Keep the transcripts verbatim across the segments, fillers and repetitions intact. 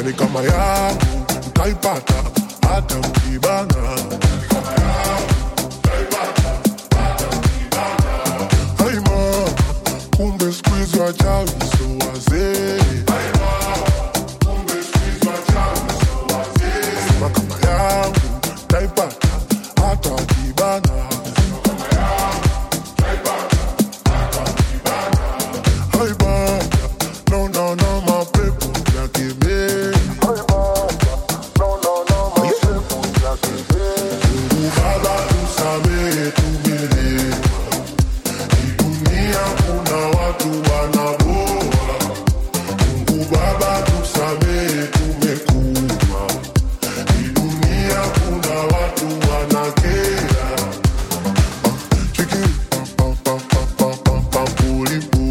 Yani kama yangu utaipata hata ukibana. Kama yangu utaipata hata ukibana. Hai mama, kumbe squeeze wachawi so wazee. Hai mama, kumbe squeeze wachawi so wazee. Nasema kama yangu utaipata hata ukibana. Kama yangu utaipata hata ukibana. Hai baba, no no no my people ya kime. Hai baba, no no no my people ya kime. Mungu Baba tusamehe tumelewa. Hii dunia kuna watu wanaboa. Mungu Baba tusamehe tumekuwa. Hii dunia kuna watu wanakera. Chiki pam pam pam pam pam pam pulipu.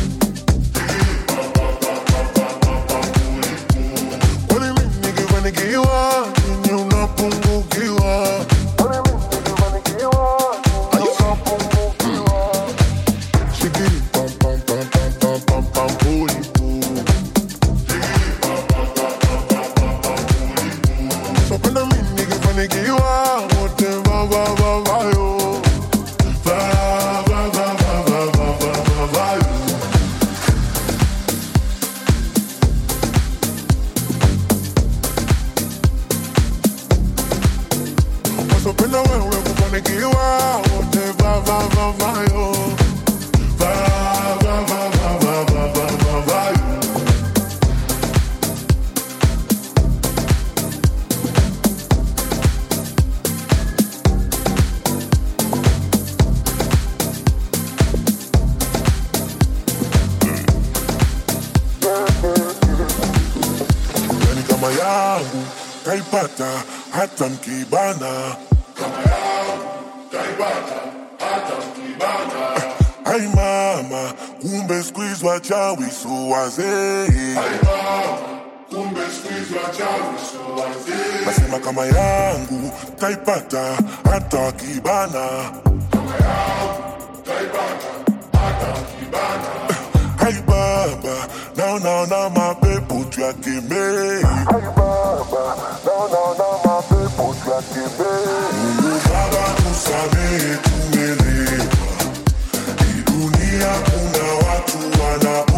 Kwani mimi nikifanikiwa ninyi unapungukiwa. Kwani mimi nikifanikiwa ninyi unapungukiwa. Chiki pam pam pam pam pam pam pam pulipu. So penda mimi nikifanikiwa wote va va va va yo. Va va va va va va va va va yo. So penda wewe kufanikiwa wote va va va va yo. Va va va va va va va va va yo. Yani kama yangu taipata hata mkibana. Kama yangu taipata hata mkibana. Hai mama, kumbe squeeze wachawi so wazee. Hai mama, kumbe squeeze wachawi so wazee. Nasema kama yangu taipata hata kibana. Kama yangu taipata hata kibana. Hai baba, now now now my people tuakime. Hai baba, now now now my people tuakime. Mungu Baba tusamehe tumelewa. Hii dunia kuna watu wana